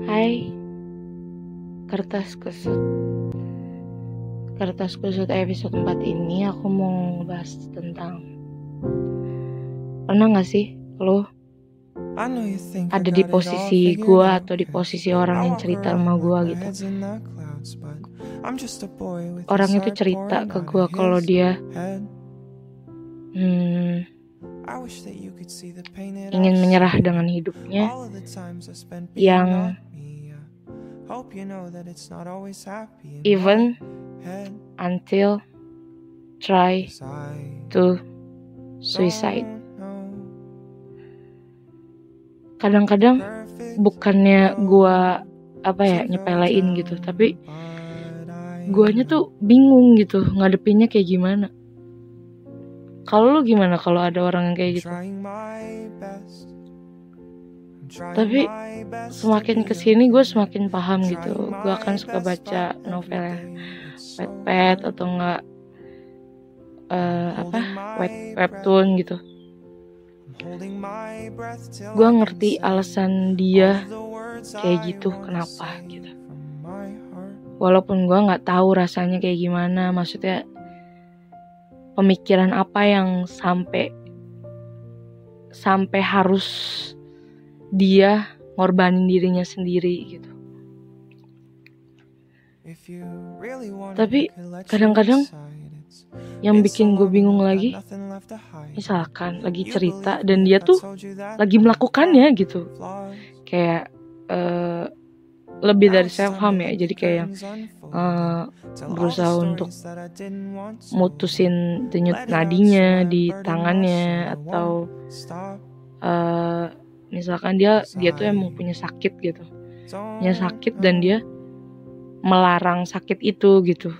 Hai, Kertas Kusut episode 4 ini aku mau bahas tentang, pernah gak sih lo ada di posisi gue atau di posisi orang yang cerita sama gue gitu. Orang itu cerita ke gue kalau dia ingin menyerah dengan hidupnya yang even until try to suicide. Kadang-kadang bukannya gue nyepelein gitu, tapi guanya tuh bingung gitu ngadepinnya kayak gimana. Kalau lu gimana kalau ada orang yang kayak gitu? Tapi semakin kesini gue semakin paham gitu. Gue akan suka baca novel Wattpad atau enggak webtoon gitu. Gue ngerti alasan dia kayak gitu, kenapa gitu. Walaupun gue nggak tahu rasanya kayak gimana, maksudnya pemikiran apa yang sampai harus dia ngorbanin dirinya sendiri gitu. Tapi kadang-kadang yang bikin gue bingung lagi, misalkan lagi cerita dan dia tuh lagi melakukannya gitu, kayak lebih dari self harm ya, jadi kayak berusaha untuk mutusin denyut nadinya di tangannya, atau misalkan dia tuh emang punya sakit gitu, dan dia melarang sakit itu gitu,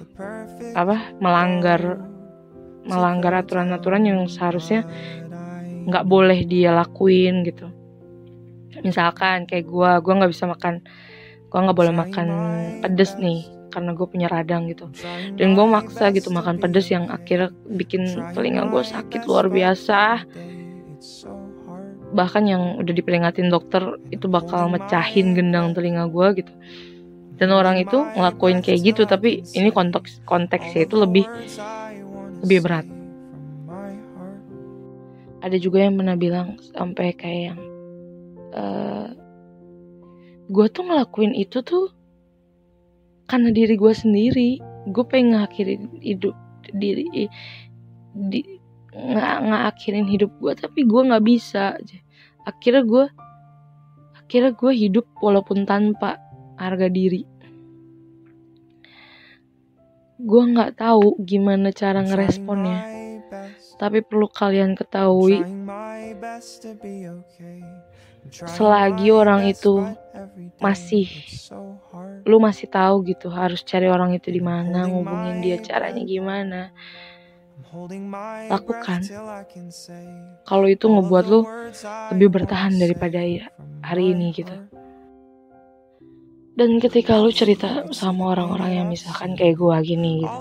melanggar aturan-aturan yang seharusnya nggak boleh dia lakuin gitu. Misalkan kayak gue nggak bisa makan, gue nggak boleh makan pedes nih karena gue punya radang gitu, dan gue maksa gitu makan pedes yang akhirnya bikin telinga gue sakit luar biasa, bahkan yang udah diperingatin dokter itu bakal mecahin gendang telinga gue gitu. Dan orang itu ngelakuin kayak gitu, tapi ini konteksnya itu lebih berat. Ada juga yang pernah bilang sampai kayak yang gue tuh ngelakuin itu tuh karena diri gue sendiri. Gue pengen ngakhirin hidup ngakhirin hidup gue, tapi gue nggak bisa. Akhirnya gue hidup walaupun tanpa harga diri. Gue nggak tahu gimana cara ngeresponnya, tapi perlu kalian ketahui, selagi orang itu lu masih tahu gitu harus cari orang itu di mana, ngubungin dia caranya gimana, lakukan. Kalau itu ngebuat lu lebih bertahan daripada hari ini gitu. Dan ketika lu cerita sama orang-orang yang misalkan kayak gue gini gitu,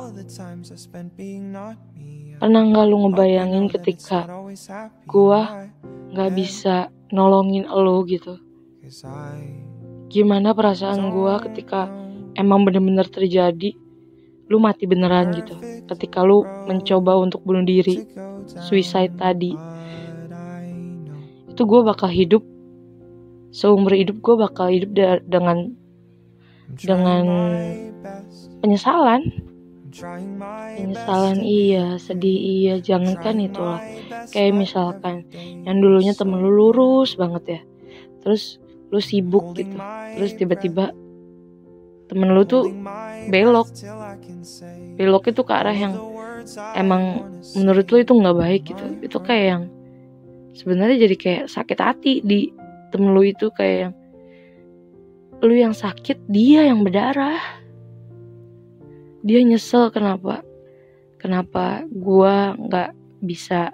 pernah gak lu ngebayangin ketika gue gak bisa nolongin lu gitu? Gimana perasaan gue ketika emang bener-bener terjadi, lu mati beneran gitu, ketika lu mencoba untuk bunuh diri, suicide tadi. Itu gue bakal hidup, seumur hidup gue bakal hidup dengan penyesalan, iya, sedih iya, jangankan itulah. Kayak misalkan yang dulunya temen lu lurus banget ya, terus lu sibuk gitu, terus tiba-tiba temen lu tuh belok itu ke arah yang emang menurut lu itu nggak baik gitu. Itu kayak yang sebenarnya jadi kayak sakit hati di temen lu itu, kayak yang lu yang sakit, dia yang berdarah. Dia nyesel kenapa gua nggak bisa,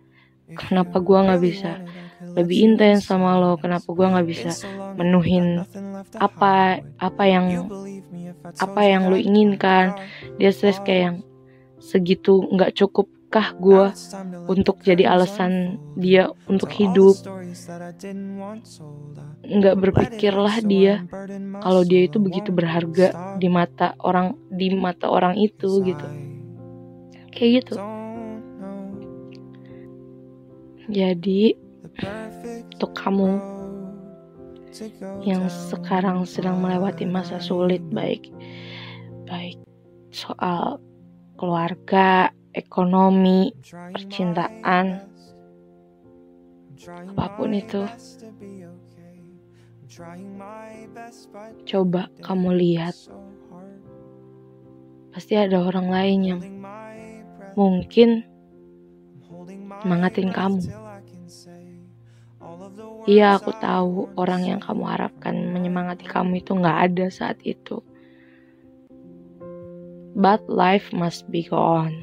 lebih intens sama lo, kenapa gua nggak bisa menuhin apa yang lu inginkan. Dia stres kayak yang segitu nggak cukup Apakah gue untuk jadi alasan dia untuk hidup? Nggak berpikirlah dia kalau dia itu begitu berharga di mata orang itu gitu. Kayak gitu. Jadi untuk kamu yang sekarang sedang melewati masa sulit, baik soal keluarga, ekonomi, percintaan, apapun itu, coba kamu lihat, pasti ada orang lain yang mungkin semangatin kamu. Iya, aku tahu orang yang kamu harapkan menyemangati kamu itu gak ada saat itu. But life must be go on.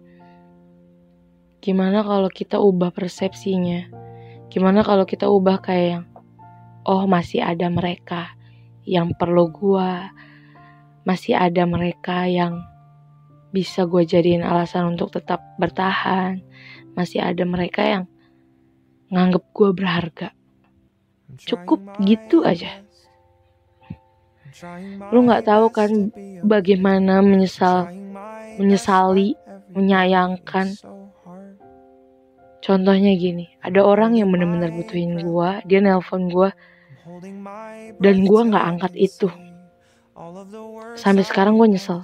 Gimana kalau kita ubah persepsinya? Gimana kalau kita ubah kayak yang, oh masih ada mereka yang perlu gua, masih ada mereka yang bisa gua jadiin alasan untuk tetap bertahan, masih ada mereka yang nganggep gua berharga. Cukup gitu aja. Lu gak tahu kan bagaimana menyesali, menyayangkan. Contohnya gini, ada orang yang benar-benar butuhin gue, dia nelpon gue, dan gue gak angkat itu. Sampai sekarang gue nyesel.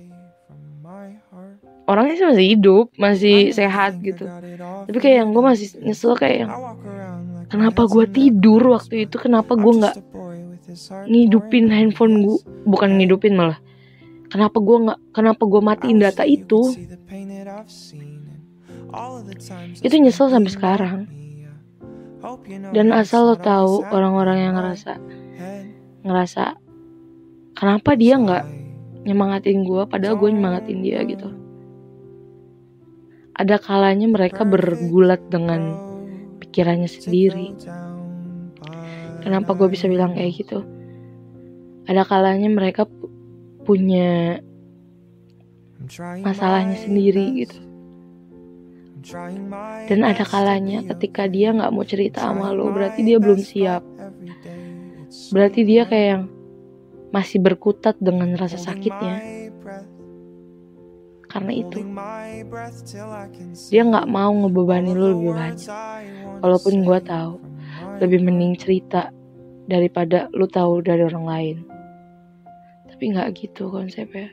Orangnya sih masih hidup, masih sehat gitu. Tapi kayak yang gue masih nyesel kayak yang, kenapa gue tidur waktu itu, kenapa gue gak ngidupin handphone gue, bukan ngidupin malah. Kenapa gue matiin data itu? Itu nyesel sampai sekarang. Dan asal lo tahu, orang-orang yang ngerasa kenapa dia nggak nyemangatin gue, padahal gue nyemangatin dia gitu. Ada kalanya mereka bergulat dengan pikirannya sendiri. Kenapa gue bisa bilang kayak gitu? Ada kalanya mereka punya masalahnya sendiri gitu. Dan ada kalanya ketika dia gak mau cerita sama lo, berarti dia belum siap. Berarti dia kayak yang masih berkutat dengan rasa sakitnya. Karena itu dia gak mau ngebebani lo lebih banyak. Walaupun gue tahu lebih mending cerita daripada lo tahu dari orang lain. Tapi gak gitu konsepnya.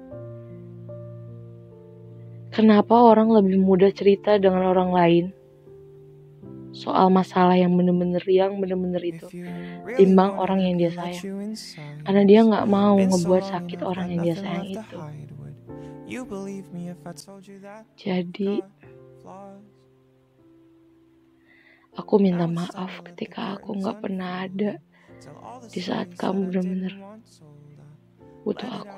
Kenapa orang lebih mudah cerita dengan orang lain soal masalah yang bener-bener itu timbang orang yang dia sayang? Karena dia gak mau ngebuat sakit orang yang dia sayang itu. Jadi aku minta maaf ketika aku gak pernah ada di saat kamu bener-bener butuh aku.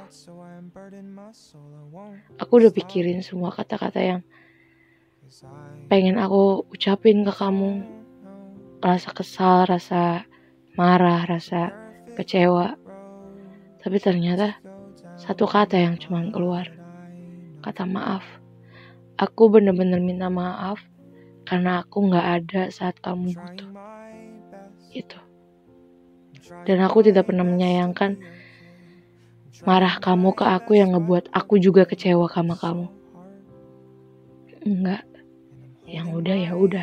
Aku udah pikirin semua kata-kata yang pengen aku ucapin ke kamu. Rasa kesal, rasa marah, rasa kecewa. Tapi ternyata satu kata yang cuma keluar. Kata maaf. Aku benar-benar minta maaf karena aku gak ada saat kamu butuh. Gitu. Dan aku tidak pernah menyayangkan marah kamu ke aku yang ngebuat aku juga kecewa sama kamu. Enggak. Yang udah ya udah.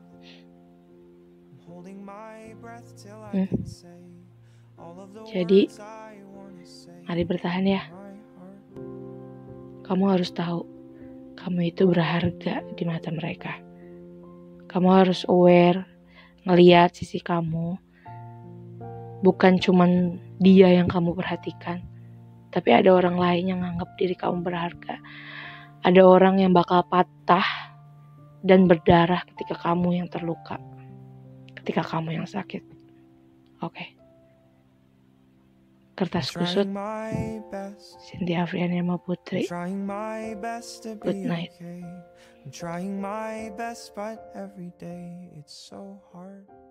Jadi mari bertahan ya. Kamu harus tahu kamu itu berharga di mata mereka. Kamu harus aware, ngelihat sisi kamu. Bukan cuman dia yang kamu perhatikan, tapi ada orang lain yang nganggap diri kamu berharga. Ada orang yang bakal patah dan berdarah ketika kamu yang terluka, ketika kamu yang sakit. Oke. Kertas kusut, Cynthia Afriana Putri. Good night. I'm trying my best, but every day it's so hard.